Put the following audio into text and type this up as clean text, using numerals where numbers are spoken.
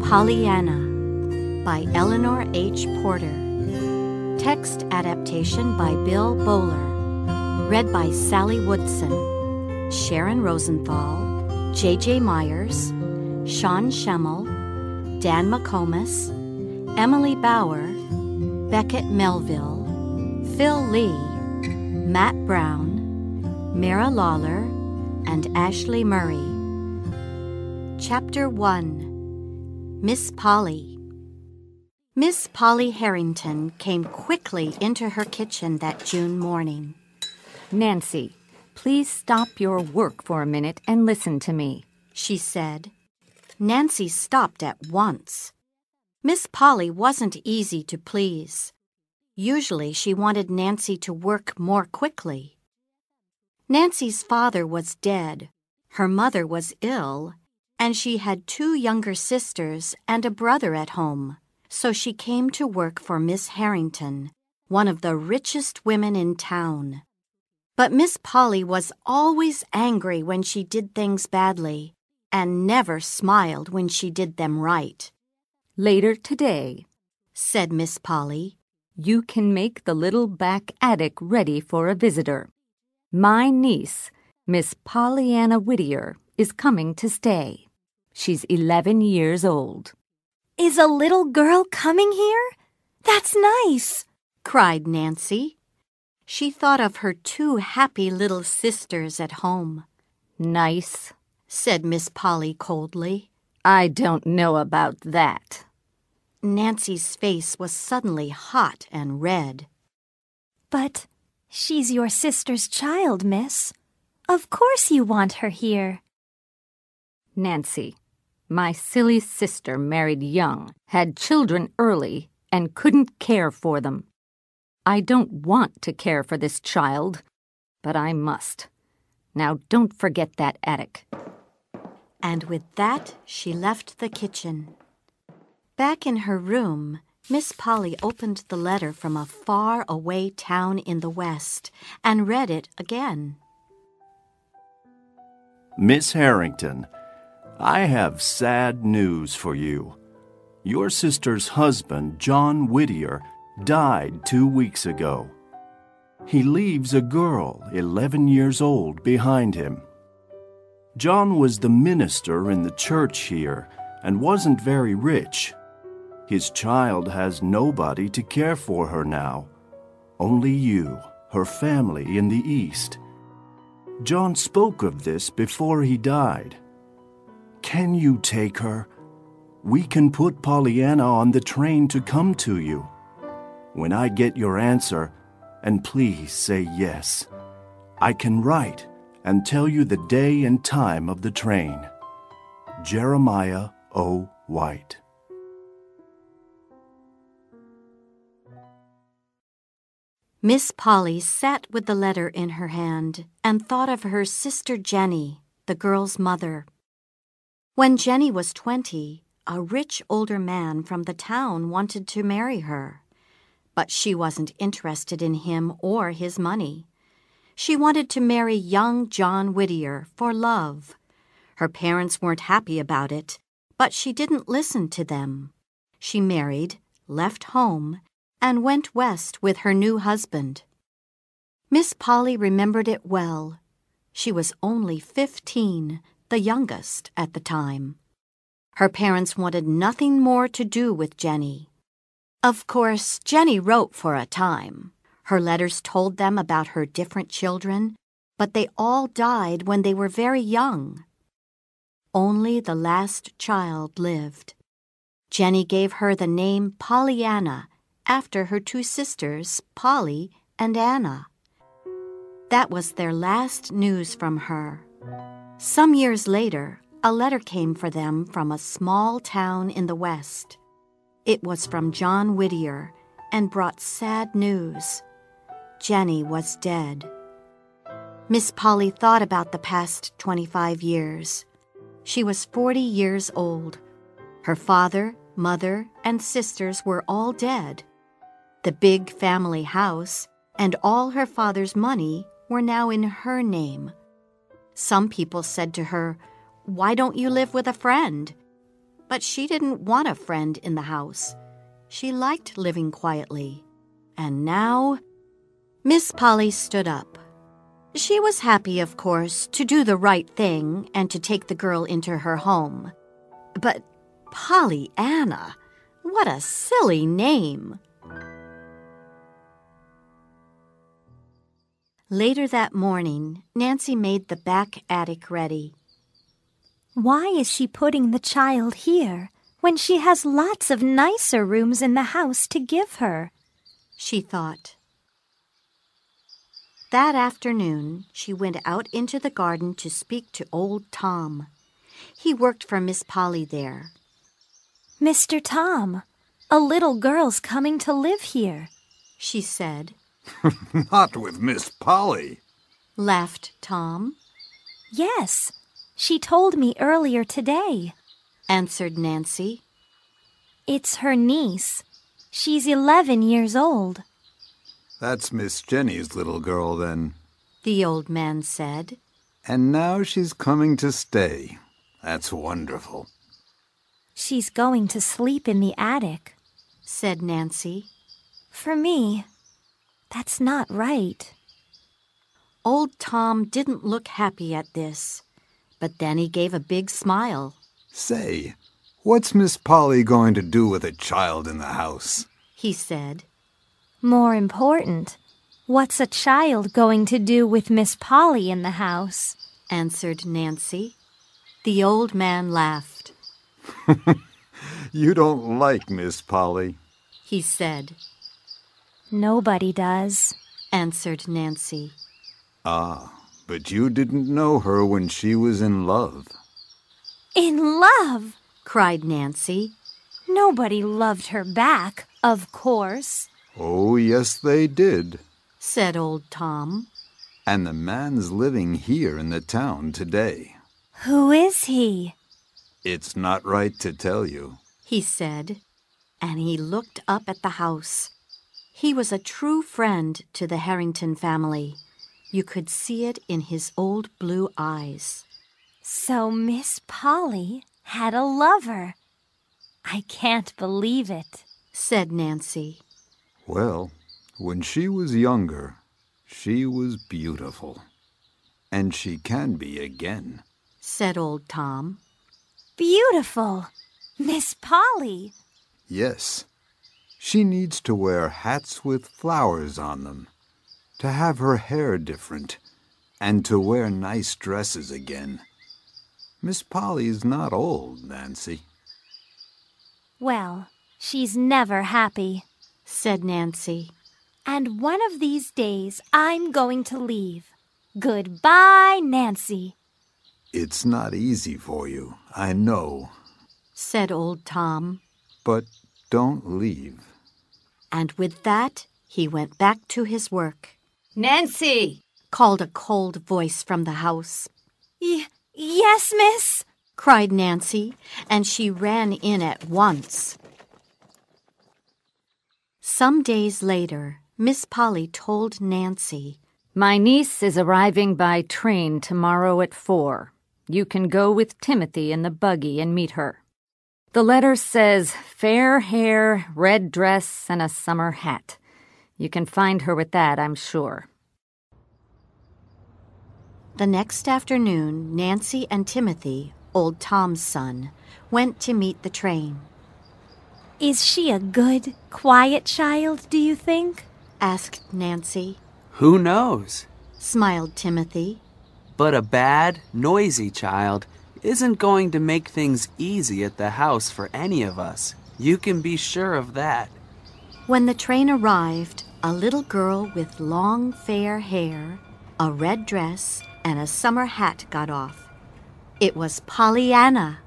Pollyanna by Eleanor H. Porter. Text adaptation by Bill Bowler. Read by Sally Woodson, Sharon Rosenthal, J.J. Myers, Sean Schemmel, Dan McComas, Emily Bauer, Beckett Melville, Phil Lee, Matt Brown, Mara Lawler, and Ashley Murray. Chapter 1. Miss Polly. Miss Polly Harrington came quickly into her kitchen that June morning. "Nancy, please stop your work for a minute and listen to me," she said. Nancy stopped at once. Miss Polly wasn't easy to please. Usually she wanted Nancy to work more quickly. Nancy's father was dead, her mother was ill, and she had 2 younger sisters and a brother at home, so she came to work for Miss Harrington, one of the richest women in town. But Miss Polly was always angry when she did things badly, and never smiled when she did them right. "Later today," said Miss Polly, "you can make the little back attic ready for a visitor. My niece, Miss Pollyanna Whittier, is coming to stay. She's 11 years old." "Is a little girl coming here? That's nice," cried Nancy. She thought of her 2 happy little sisters at home. "Nice," said Miss Polly coldly. "I don't know about that." Nancy's face was suddenly hot and red. "But she's your sister's child, miss. Of course you want her here." "Nancy, my silly sister married young, had children early, and couldn't care for them. I don't want to care for this child, but I must. Now don't forget that attic." And with that, she left the kitchen. Back in her room, Miss Polly opened the letter from a far-away town in the West and read it again. Miss Harrington, I have sad news for you. Your sister's husband, John Whittier, died 2 weeks ago. He leaves a girl, 11 years old, behind him. John was the minister in the church here and wasn't very rich. His child has nobody to care for her now. Only you, her family in the East. John spoke of this before he died. Can you take her? We can put Pollyanna on the train to come to you. When I get your answer, and please say yes, I can write and tell you the day and time of the train. Jeremiah O. White. Miss Polly sat with the letter in her hand and thought of her sister Jenny, the girl's mother. When Jenny was 20, a rich older man from the town wanted to marry her. But she wasn't interested in him or his money. She wanted to marry young John Whittier for love. Her parents weren't happy about it, but she didn't listen to them. She married, left home, and went west with her new husband. Miss Polly remembered it well. She was only 15, the youngest at the time. Her parents wanted nothing more to do with Jenny. Of course, Jenny wrote for a time. Her letters told them about her different children, but they all died when they were very young. Only the last child lived. Jenny gave her the name Pollyanna, after her 2 sisters, Polly and Anna. That was their last news from her. Some years later, a letter came for them from a small town in the West. It was from John Whittier and brought sad news. Jenny was dead. Miss Polly thought about the past 25 years. She was 40 years old. Her father, mother, and sisters were all dead. The big family house and all her father's money were now in her name. Some people said to her, "Why don't you live with a friend?" But she didn't want a friend in the house. She liked living quietly. And now, Miss Polly stood up. She was happy, of course, to do the right thing and to take the girl into her home. But Pollyanna, what a silly name! Later that morning, Nancy made the back attic ready. Why is she putting the child here when she has lots of nicer rooms in the house to give her? She thought. That afternoon, she went out into the garden to speak to old Tom. He worked for Miss Polly there. Mr. Tom, a little girl's coming to live here, she said. Not with Miss Polly, laughed Tom. Yes, she told me earlier today, answered Nancy. It's her niece. She's 11 years old. That's Miss Jenny's little girl, then, the old man said. And now she's coming to stay. That's wonderful. She's going to sleep in the attic, said Nancy. For me, that's not right. Old Tom didn't look happy at this, but then he gave a big smile. Say, what's Miss Polly going to do with a child in the house? He said. More important, what's a child going to do with Miss Polly in the house? Answered Nancy. The old man laughed. You don't like Miss Polly, he said. Nobody does, answered Nancy. Ah, but you didn't know her when she was in love. In love? Cried Nancy. Nobody loved her back, of course. Oh, yes, they did, said old Tom. And the man's living here in the town today. Who is he? It's not right to tell you, he said, and he looked up at the house. He was a true friend to the Harrington family. You could see it in his old blue eyes. So Miss Polly had a lover. I can't believe it, said Nancy. Well, when she was younger, she was beautiful. And she can be again, said old Tom. Beautiful! Miss Polly! Yes. She needs to wear hats with flowers on them, to have her hair different, and to wear nice dresses again. Miss Polly's not old, Nancy. Well, she's never happy, said Nancy. And one of these days I'm going to leave. Goodbye, Nancy. It's not easy for you, I know, said old Tom. But don't leave. And with that, he went back to his work. Nancy! Called a cold voice from the house. Yes, miss, cried Nancy, and she ran in at once. Some days later, Miss Polly told Nancy, My niece is arriving by train tomorrow at 4. You can go with Timothy in the buggy and meet her. The letter says fair hair, red dress, and a summer hat. You can find her with that, I'm sure. The next afternoon, Nancy and Timothy, old Tom's son, went to meet the train. Is she a good, quiet child, do you think? Asked Nancy. Who knows? Smiled Timothy. But a bad, noisy child isn't going to make things easy at the house for any of us. You can be sure of that. When the train arrived, a little girl with long, fair hair, a red dress, and a summer hat got off. It was Pollyanna.